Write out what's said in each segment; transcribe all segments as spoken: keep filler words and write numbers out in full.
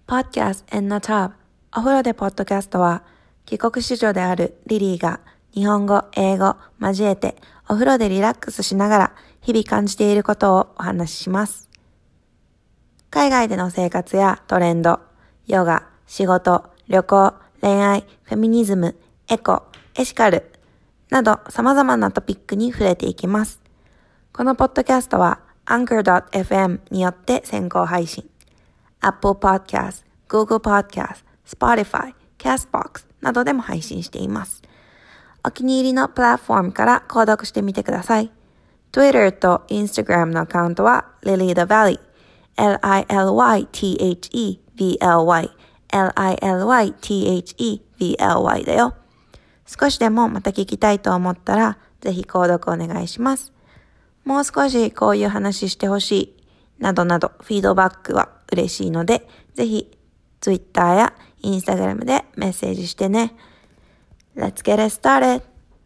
Podcast in the Tub お風呂でポッドキャストは帰国子女であるリリーが日本語、英語交えてお風呂でリラックスしながら日々感じていることをお話しします。海外での生活やトレンド、ヨガ、仕事、旅行、恋愛、フェミニズム、エコ、エシカルなど様々なトピックに触れていきます。このポッドキャストは アンカードットエフエム によって先行配信。Apple Podcast、Google Podcast、Spotify、Castbox などでも配信しています。お気に入りのプラットフォームから購読してみてください。Twitter と Instagram のアカウントは Lily the Valley、エルアイエルワイティーエイチイーブイエルワイ、エルアイエルワイティーエイチイーブイエルワイ だよ。少しでもまた聞きたいと思ったら、ぜひ購読お願いします。もう少しこういう話してほしい、などなどフィードバックは嬉しいので、ぜひ Twitter や Instagram でメッセージしてね。Let's get it started!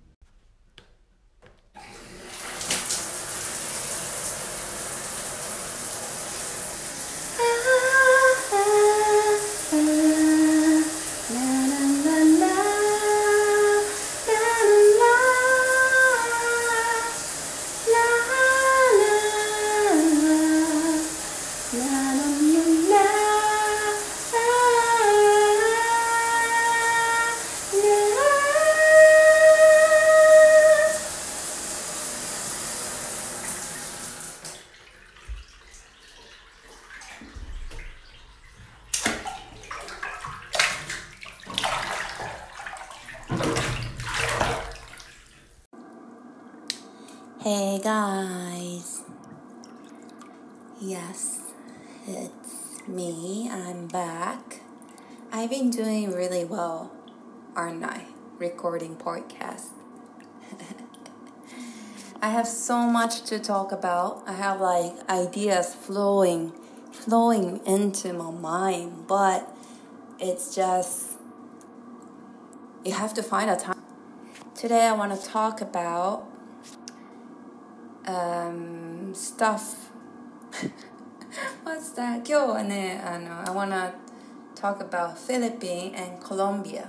Hey guys, yes, it's me, I'm back. I've been doing really well, aren't I? Recording podcast. I have so much to talk about. I have like ideas flowing, flowing into my mind, but it's just, you have to find a time. Today I want to talk about Um, stuff. What's that? 今日はね、あの、I wanna talk about Philippines and Colombia.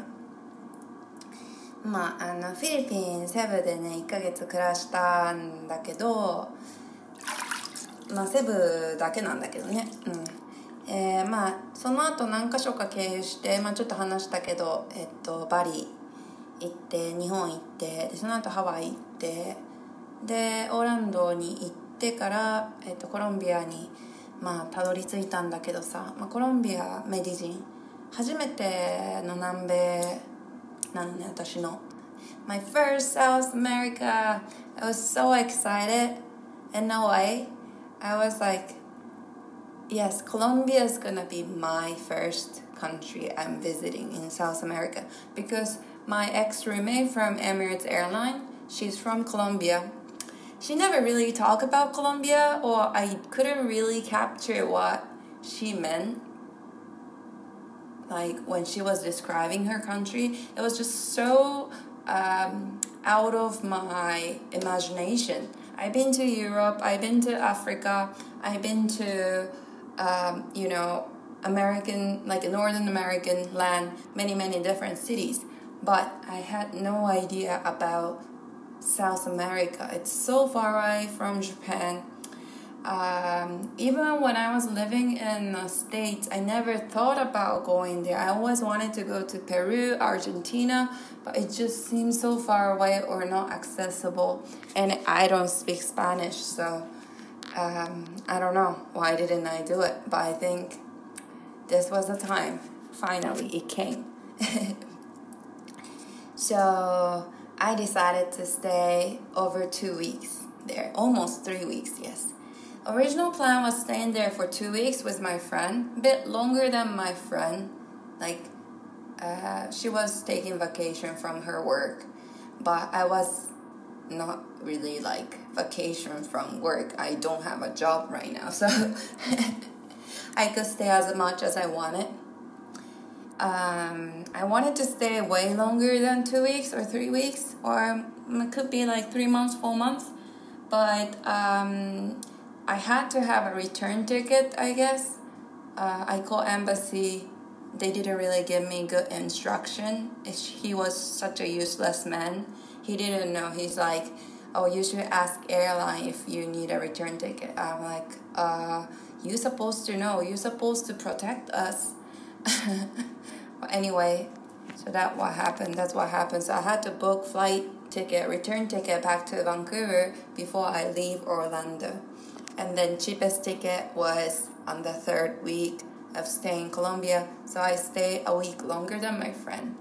まあ、あの、フィリピン、セブでね、いっかげつ暮らしたんだけど、まあ、セブだけなんだけどね。うん。えー、まあ、その後何か所か経由して、まあ、ちょっと話したけど、えっと、バリ行って、日本行って、で、その後ハワイ行って、でオーランドに行ってから、えっと、コロンビアにまあたどり着いたんだけどさ、まあ、コロンビアメディジン初めての南米なのね、私の My first South America. I was so excited. In a way I was like, yes, Colombia is gonna be my first country I'm visiting in South America, because my ex-roommate from Emirates Airline, she's from Colombia.She never really talked about Colombia, or I couldn't really capture what she meant. Like when she was describing her country, it was just so um, out of my imagination. I've been to Europe, I've been to Africa, I've been to, um, you know, American, like Northern American land, many, many different cities. But I had no idea about South America. It's so far away from Japan. Um, even when I was living in the States, I never thought about going there. I always wanted to go to Peru, Argentina, but it just seems so far away or not accessible. And I don't speak Spanish, so um, I don't know why didn't I do it. But I think this was the time. Finally, it came. So...I decided to stay over two weeks there, almost three weeks, yes. Original plan was staying there for two weeks with my friend, a bit longer than my friend. Like, uh, she was taking vacation from her work, but I was not really like vacation from work. I don't have a job right now, so I could stay as much as I wanted.Um, I wanted to stay way longer than two weeks or three weeks, or it could be like three months, four months. But um, I had to have a return ticket, I guess. uh, I called embassy. They didn't really give me good instruction. He was such a useless man. He didn't know. He's like, oh, you should ask airline if you need a return ticket. I'm like, uh, you're supposed to know. You're supposed to protect us. But anyway, so that's what happened. That's what happened. So I had to book flight ticket, return ticket back to Vancouver before I leave Orlando. And then cheapest ticket was on the third week of staying in Colombia. So I stayed a week longer than my friend.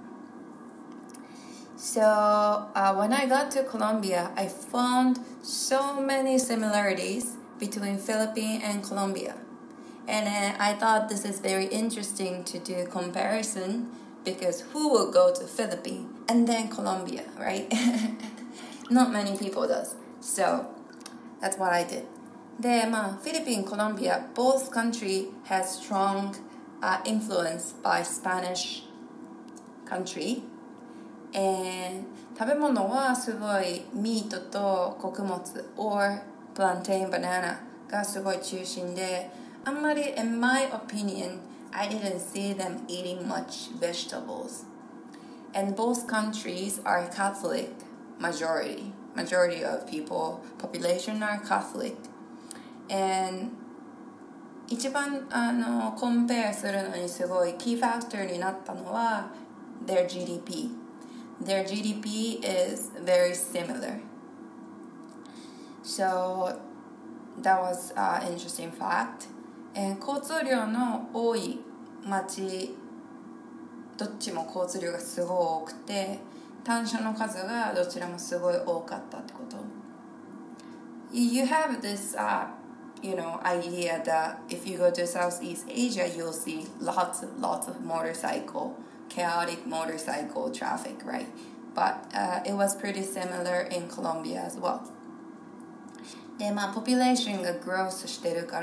So uh, when I got to Colombia, I found so many similarities between Philippines and Colombia. And uh, I thought this is very interesting to do comparison because who will go to Philippines and then Colombia, right? Not many people does. So that's what I did. で、まあ、フィリピン、コロンビア both country has strong、uh, influence by Spanish country. And 食べ物はすごいミートと穀物 or plantain banana がすごい中心で、あんまり in my opinion I didn't see them eating much vegetables. And both countries are Catholic majority. Majority of people, population are Catholic.And 一番あのコンペアするのにすごいキーファクターになったのは their ジーディーピー. Their ジーディーピー is very similar. So that was an interesting fact. 交通量の多い町どっちも交通量がすごい多くて単車の数がどちらもすごい多かったってこと。You have this、uh,You know, idea that if you go to Southeast Asia, you'll see lots and lots of motorcycle, chaotic motorcycle traffic, right? But、uh, it was pretty similar in Colombia as well. で、まあ、population が growth してるから、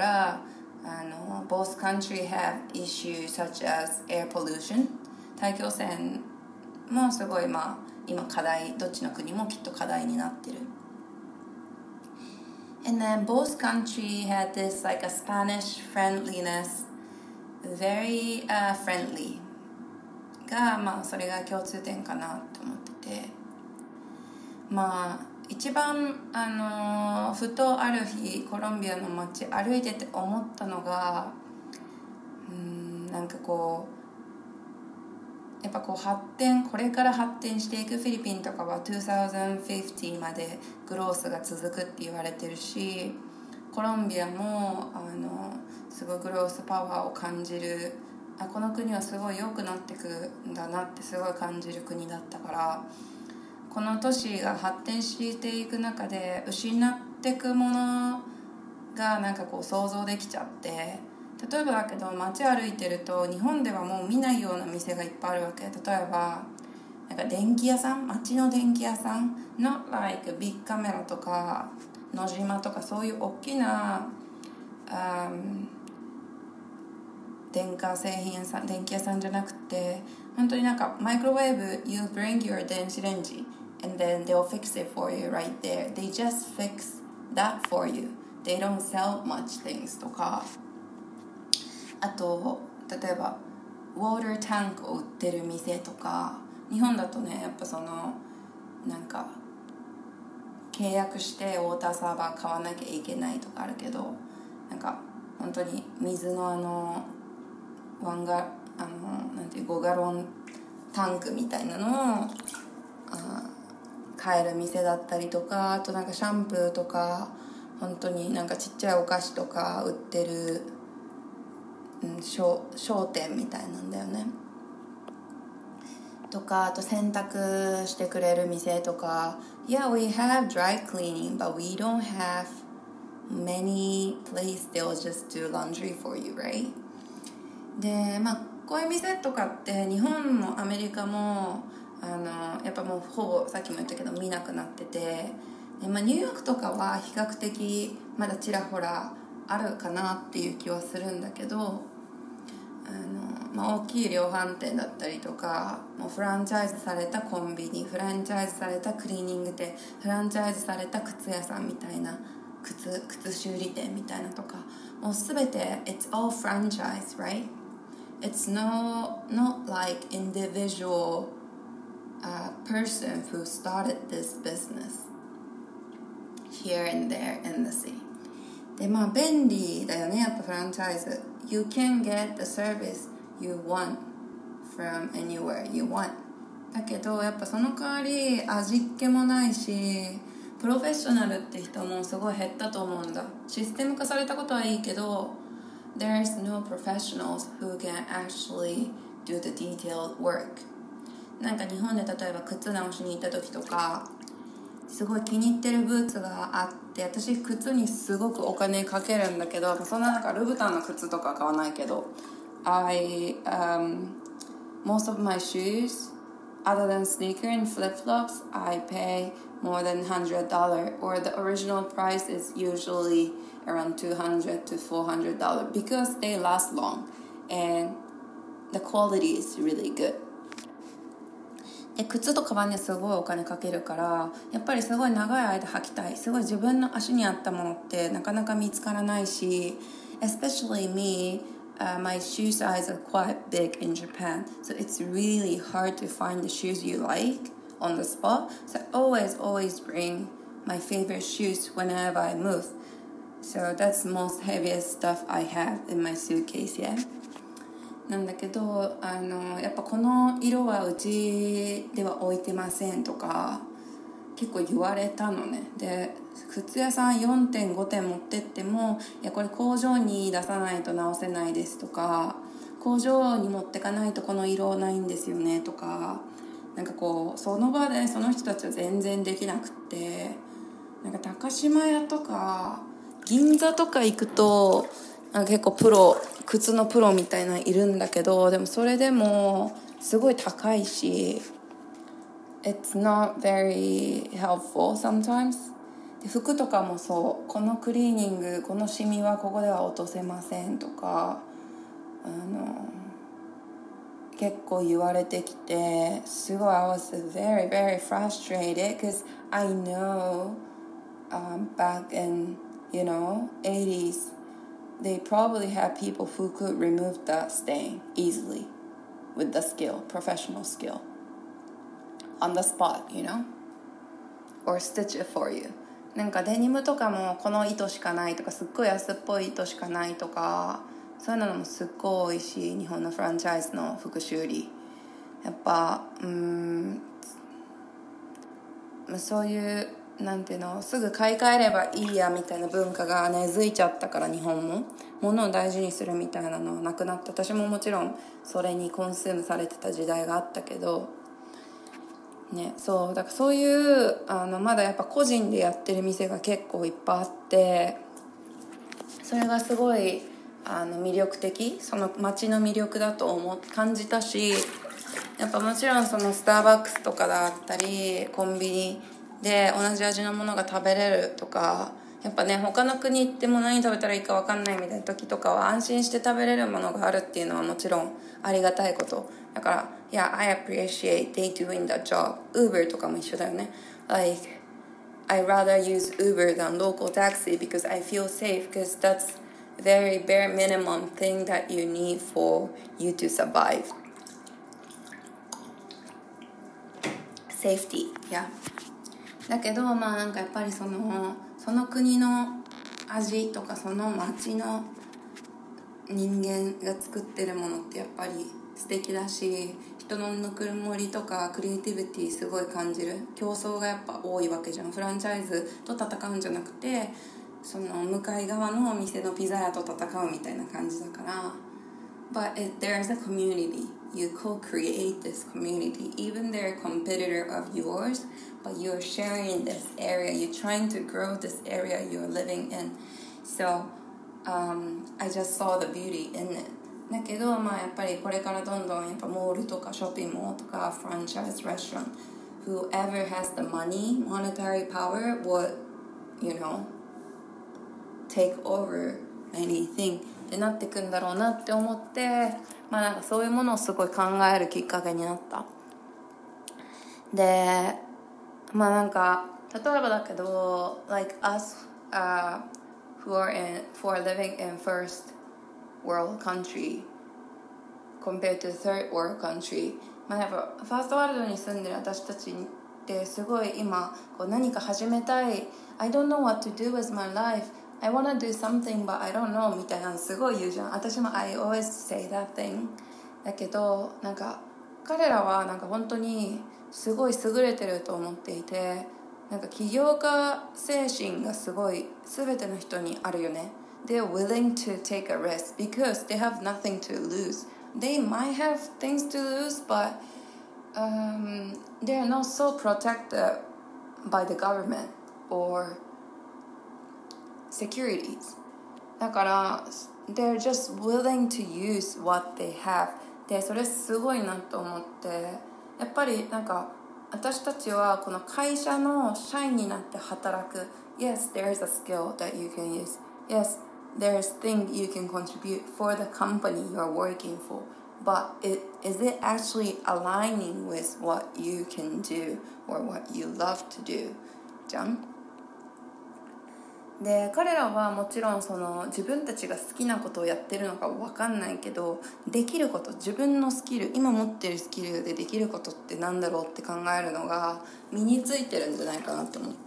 あの、both countries have issues such as air pollution. 大気汚染もすごい、まあ、今課題、どっちの国もきっと課題になってる。And then both countries had this like a Spanish friendliness, very、uh, friendly. が、まあそれが共通点かなと思ってて、まあ一番あのふとある日コロンビアの街歩いてて思ったのが、うーんなんかこう。やっぱこう発展これから発展していくフィリピンとかはにせんごじゅうまでグロースが続くって言われてるしコロンビアもあのすごいグロースパワーを感じるあこの国はすごい良くなってくんだなってすごい感じる国だったからこの都市が発展していく中で失っていくものがなんかこう想像できちゃって例えばだけど街歩いてると日本ではもう見ないような店がいっぱいあるわけ。例えばなんか電気屋さん街の電気屋さん not like ビッグカメラとか野島とかそういう大きな、um, 電化製品屋さん電気屋さんじゃなくて本当になんかマイクロウェーブ you bring your 電子レンジ and then they'll fix it for you right there. They just fix that for you. They don't sell much things とかあと例えばウォータータンクを売ってる店とか日本だとねやっぱそのなんか契約してウォーターサーバー買わなきゃいけないとかあるけどなんか本当に水のあのワンガあのなんていうごガロンタンクみたいなのをあ買える店だったりとかあとなんかシャンプーとか本当になんかちっちゃいお菓子とか売ってるうん、商, 商店みたいなんだよねとかあと洗濯してくれる店とか Yeah, we have dry cleaning but we don't have many places they'll just do laundry for you, right? で、まあこういう店とかって日本もアメリカもあのやっぱもうほぼさっきも言ったけど見なくなっててで、まあ、ニューヨークとかは比較的まだちらほらあるかなっていう気はするんだけどあの、まあ、大きい量販店だったりとかもうフランチャイズされたコンビニフランチャイズされたクリーニング店フランチャイズされた靴屋さんみたいな靴靴修理店みたいなとか、もうすべて it's all franchise, right? It's no not like individual uh, person who started this business here and there in the city. でまあ便利だよね、やっぱフランチャイズ。You can get the service you want from anywhere you want. だけどやっぱその代わり味っ気もないし、プロフェッショナルって人もすごい減ったと思うんだ。システム化されたことはいいけど、there's no professionals who can actually do the detailed work. なんか日本で例えば靴直しに行った時とか、すごい気に入ってるブーツがあって、私靴にすごくお金かけるんだけど、そんな中ルブタンの靴とか買わないけど、I um most of my shoes other than sneaker and flip-flops I pay more than one hundred dollars, or the original price is usually around two hundred to four hundred dollars because they last long and the quality is really good. で靴とカバンにすごいお金かけるから、やっぱりすごい長い間履きたい、すごい自分の足に合ったものってなかなか見つからないし、 especially me、uh, my shoe size are quite big in Japan, so it's really hard to find the shoes you like on the spot. So I always always bring my favorite shoes whenever I move. So that's the most heaviest stuff I have in my suitcase, yeah. なんだけど、あのやっぱこの色はうちでは置いてませんとか結構言われたのね。で靴屋さん よんてんご 点持ってっても、いやこれ工場に出さないと直せないですとか、工場に持ってかないとこの色ないんですよねとか、なんかこうその場でその人たちは全然できなくって、なんか高島屋とか銀座とか行くと結構プロ、靴のプロみたいなのいるんだけど、でもそれでもすごい高いし It's not very helpful sometimes. で服とかもそう、このクリーニング、このシミはここでは落とせませんとか、あの結構言われてきて、すごい I was very very frustrated because I know、um, back in you know eighties they probably had people who could remove the stain easily with the skill, professional skill, on the spot, you know, or stitch it for you. なんかデニムとかもこの糸しかないとか、すっごい安っぽい糸しかないとか、そういうのもすっごい多いし、日本のフランチャイズの服修理やっぱうーんそういうなんていうの、すぐ買い替えればいいやみたいな文化が根付いちゃったから、日本も物を大事にするみたいなのはなくなって、私ももちろんそれにコンスームされてた時代があったけどね、そうだからそういうあのまだやっぱ個人でやってる店が結構いっぱいあって、それがすごいあの魅力的、その街の魅力だと思う感じたし、やっぱもちろんそのスターバックスとかだったりコンビニで同じ味のものが食べれるとか、やっぱね他の国行っても何食べたらいいか分かんないみたいな時とかは安心して食べれるものがあるっていうのはもちろんありがたいことだから、いや I appreciate they doing that job. Uber とかも一緒だよね。 Like I rather use Uber than local taxi because I feel safe, because that's very bare minimum thing that you need for you to survive. Safety, yeah. だけどまあなんかやっぱりそのその国の味とかその街の人間が作ってるものってやっぱり素敵だし、人のぬくもりとかクリエイティビティすごい感じる。競争がやっぱ多いわけじゃん。フランチャイズと戦うんじゃなくて、その向かい側のお店のピザ屋と戦うみたいな感じだから。But it, there's a community. You co-create this community. Even they're a competitor of yours, but you're sharing this area. You're trying to grow this area you're living in. So um, I just saw the beauty in it. だけど、まあ、やっぱりこれからどんどんやっぱモールとかショッピングモールとかフランチャイズレストラン whoever has the money, monetary power would, you know, take over anything ってなってくんだろうなって思って、まあなんかそういうものをすごい考えるきっかけになった。で、まあなんか例えばだけど like us uh, who are in who are living in first world country compared to third world country、まあ、やっぱファーストワールドに住んでる私たちってすごい今こう何か始めたい I don't know what to do with my life I want to do something but I don't know みたいなのすごい言うじゃん。私も I always say that thing だけどなんか彼らはなんか本当にすごい優れてると思っていて、なんか起業家精神がすごい全ての人にあるよね。 They're willing to take a risk because they have nothing to lose. They might have things to lose but um, they're not so protected by the government or securities. だから they're just willing to use what they have. でそれすごいなと思って、やっぱりなんか私たちはこの会社の社員になって働く。 Yes, there's a skill that you can use. Yes, there's things you can contribute for the company you're working for. But it, is it actually aligning with what you can do or what you love to do? じゃん。で彼らはもちろんその自分たちが好きなことをやってるのか分かんないけど、できること、自分のスキル、今持ってるスキルでできることってなんだろうって考えるのが身についてるんじゃないかなって思って、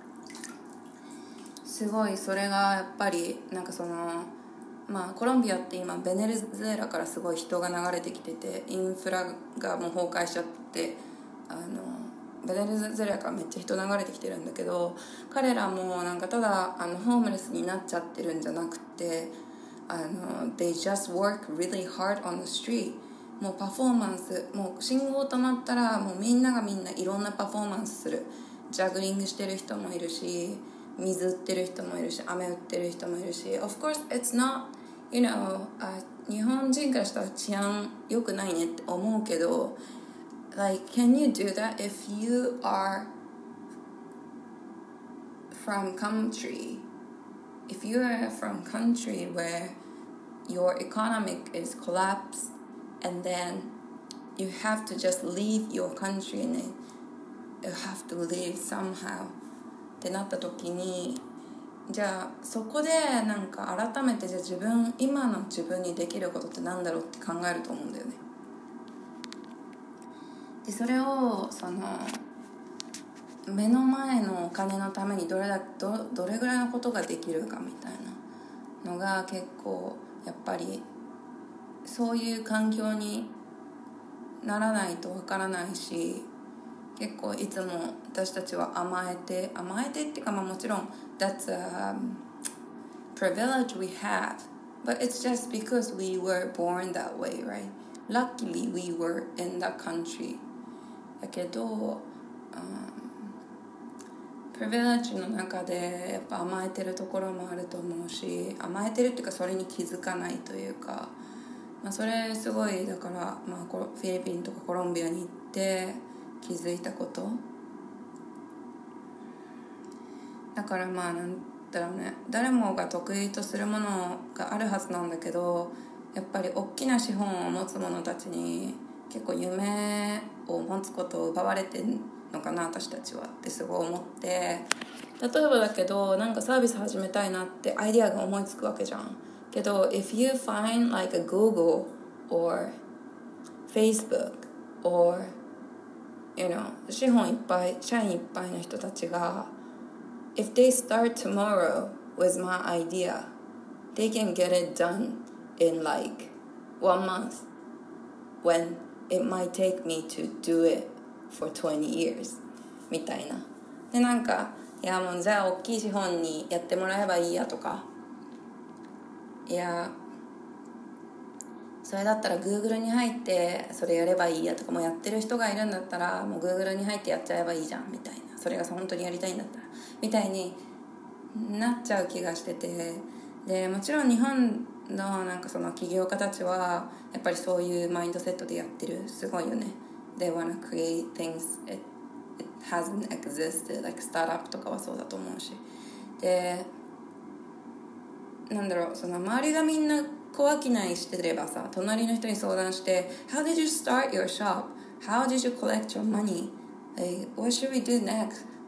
すごいそれがやっぱりなんかそのまあコロンビアって今ベネズエラからすごい人が流れてきてて、インフラがもう崩壊しちゃって、あのベネズエラからめっちゃ人流れてきてるんだけど、彼らもなんかただあのホームレスになっちゃってるんじゃなくて、あの They just work really hard on the street。 もうパフォーマンス、もう信号止まったらもうみんながみんないろんなパフォーマンスする。ジャグリングしてる人もいるし、水売ってる人もいるし、飴売ってる人もいるし、 Of course it's not, you know、uh, 日本人からしたら治安良くないねって思うけど、Like, can you do that if you are from country? If you are from country where your economic is collapsed and then you have to just leave your country and then you have to leave somehow ってなった時に、じゃあそこでなんか改めてじゃあ自分、今の自分にできることってなんだろうって考えると思うんだよね。でそれをその目の前のお金のためにどれだ ど, どれぐらいのことができるかみたいなのが結構やっぱりそういう環境にならないとわからないし、結構いつも私たちは甘えて甘えてっていうか、まあ、もちろん That's a privilege we have, but it's just because we were born that way, right? Luckily we were in that country. だけど、うん、プリビレッジの中でやっぱ甘えてるところもあると思うし、甘えてるっていうかそれに気づかないというか、まあ、それすごいだから、まあ、フィリピンとかコロンビアに行って気づいたことだから、まあなんだろうね、誰もが得意とするものがあるはずなんだけど、やっぱり大きな資本を持つ者たちに結構夢を持つことを奪われてるのかな私たちはってすごい思って、例えばだけどなんかサービス始めたいなってアイディアが思いつくわけじゃん。けど if you find like a Google or Facebook or you know 資本いっぱい、社員いっぱいの人たちが if they start tomorrow with my idea they can get it done in like one month when it might take me to do it for twenty years みたいな。でなんかいやもうじゃあ大きい資本にやってもらえばいいやとか、いやそれだったら Google に入ってそれやればいいやとか、もうやってる人がいるんだったらもう Google に入ってやっちゃえばいいじゃんみたいな、それが本当にやりたいんだったらみたいになっちゃう気がしてて、でもちろん日本のなんかその起業家たちはやっぱりそういうマインドセットでやってる、すごいよね。 They wanna create things it, it hasn't existed, like スタートアップとかはそうだと思うし、でなんだろう、その周りがみんな小商いしてればさ、隣の人に相談して How did you start your shop? How did you collect your money? Like, what should we do next?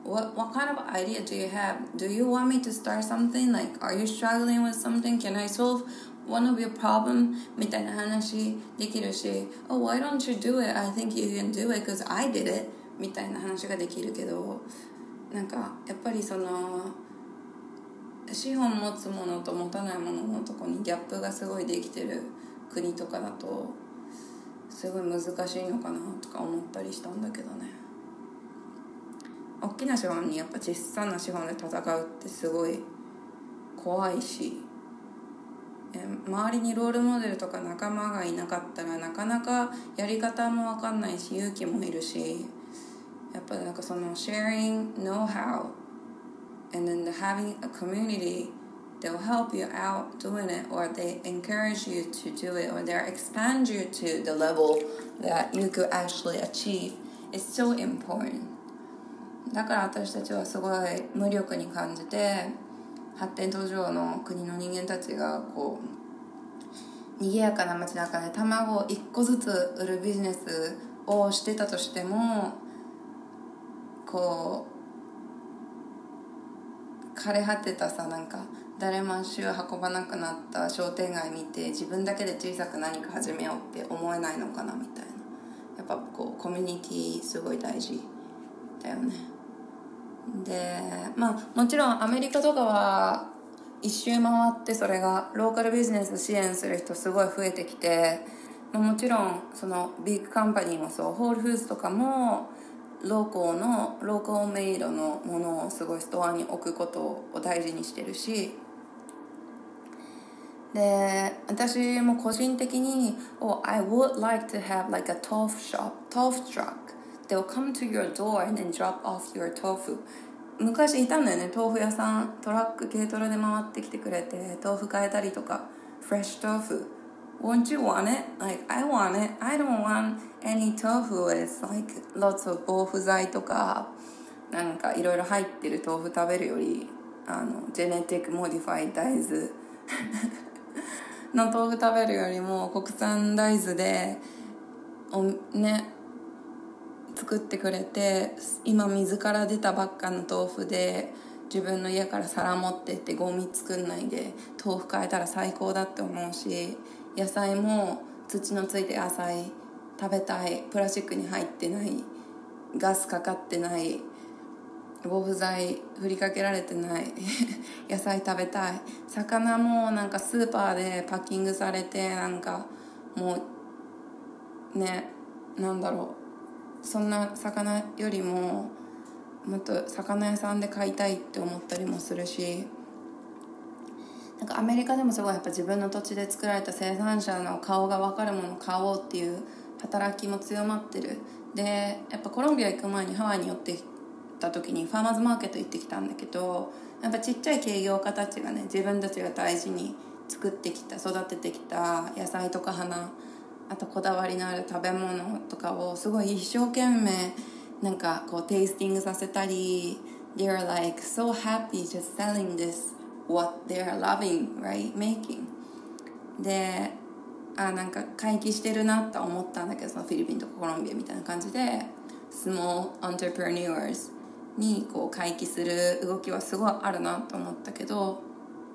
what what kind of idea do you have? Do you want me to start something? Like, are you struggling with something? Can I solve one of your problem? みたいな話できるし、Oh, why don't you do it? I think you can do it because I did it. みたいな話ができるけど、なんかやっぱりその資本持つものと持たないもののとこにギャップがすごいできてる国とかだとすごい難しいのかなとか思ったりしたんだけどね。大きな資本にやっぱ小さな資本で戦うってすごい怖いし、周りにロールモデルとか仲間がいなかったらなかなかやり方も分かんないし勇気もいるし、やっぱなんかその sharing know-how and then the having a community that will help you out doing it, or they encourage you to do it, or they expand you to the level that you could actually achieve is so important. だから私たちはすごい無力に感じて、発展途上の国の人間たちがこう賑やかな街中で卵をいっこずつ売るビジネスをしてたとしても、こう枯れ果てたさ、なんか誰も足を運ばなくなった商店街見て自分だけで小さく何か始めようって思えないのかなみたいな。やっぱこうコミュニティすごい大事だよね。で、まあもちろんアメリカとかは一周回ってそれがローカルビジネス支援する人すごい増えてきて、まあ、もちろんそのビッグカンパニーもそう、ホールフーズとかもローコーのローコーメイドのものをすごいストアに置くことを大事にしてるし、で私も個人的に Oh, I would like to have like a tofu shop, tofu truck that will come to your door and then drop off your tofu. 昔いたんだよね、豆腐屋さん、トラック軽トラで回ってきてくれて豆腐買えたりとか、フレッシュ豆腐 Won't you want it? Like, I want it. I don't want any tofu with like lots of 防腐剤とかなんかいろいろ入ってる豆腐食べるより、あのジェネティックモディファイ大豆の豆腐食べるよりも国産大豆でおね作ってくれて、今水から出たばっかの豆腐で自分の家から皿持ってってゴミ作んないで豆腐買えたら最高だって思うし、野菜も土のついて野菜食べたい、プラスチックに入ってない、ガスかかってない、防腐剤振りかけられてない野菜食べたい。魚もなんかスーパーでパッキングされてなんかもうね、なんだろう、そんな魚よりももっと魚屋さんで買いたいって思ったりもするし、なんかアメリカでもすごいやっぱ自分の土地で作られた生産者の顔が分かるものを買おうっていう働きも強まってる。でやっぱコロンビア行く前にハワイに寄ってた時にファーマーズマーケット行ってきたんだけど、やっぱちっちゃい企業家たちがね、自分たちが大事に作ってきた育ててきた野菜とか花、あとこだわりのある食べ物とかをすごい一生懸命なんかこうテイスティングさせたり、 They're like so happy just selling this what they're loving, right? Making で、あ、なんか回帰してるなと思ったんだけど、そのフィリピンとかコロンビアみたいな感じでsmall entrepreneurs にこう回帰する動きはすごいあるなと思ったけど、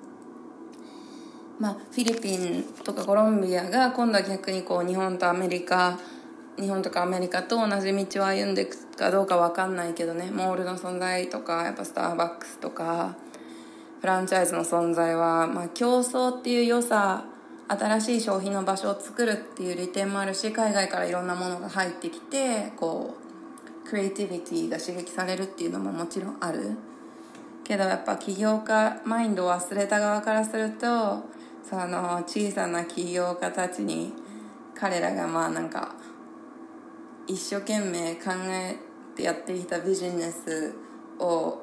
まあフィリピンとかコロンビアが今度は逆にこう日本とアメリカ日本とかアメリカと同じ道を歩んでいくかどうか分かんないけどね、モールの存在とかやっぱスターバックスとかフランチャイズの存在は、まあ、競争っていう良さ、新しい消費の場所を作るっていう利点もあるし、海外からいろんなものが入ってきてこうクリエイティビティが刺激されるっていうのももちろんあるけど、やっぱ起業家マインドを忘れた側からすると、その小さな起業家たちに彼らがまあなんか一生懸命考えてやってきたビジネスを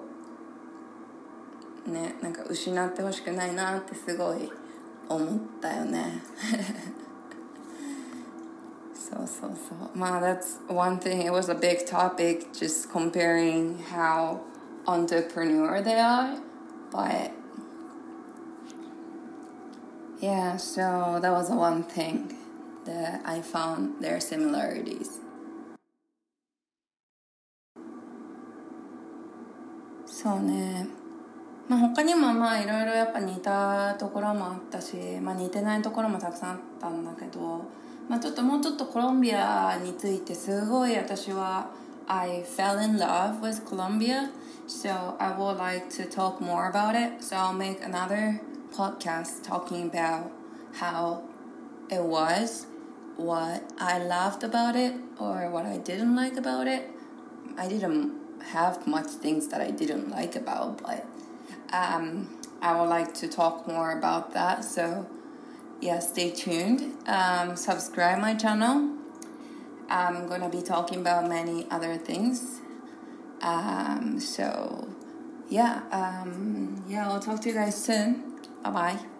ね、なんか失ってほしくないなってすごい思ったよねそうそうそう、まあ that's one thing. It was a big topic just comparing how entrepreneur they are, but yeah, so that was one thing that I found their similarities. そうね、まあ、他にもまあいろいろやっぱ似たところもあったし、まあ、似てないところもたくさんあったんだけど、まあ、ちょっともうちょっとコロンビアについてすごい私は I fell in love with Colombia, so I would like to talk more about it. So I'll make another podcast talking about how it was, what I loved about it, or what I didn't like about it. I didn't have much things that I didn't like about, but um, I would like to talk more about that. So yeah, stay tuned. Um, subscribe my channel. I'm gonna be talking about many other things. Um, so yeah, um, yeah, I'll talk to you guys soon. Bye bye.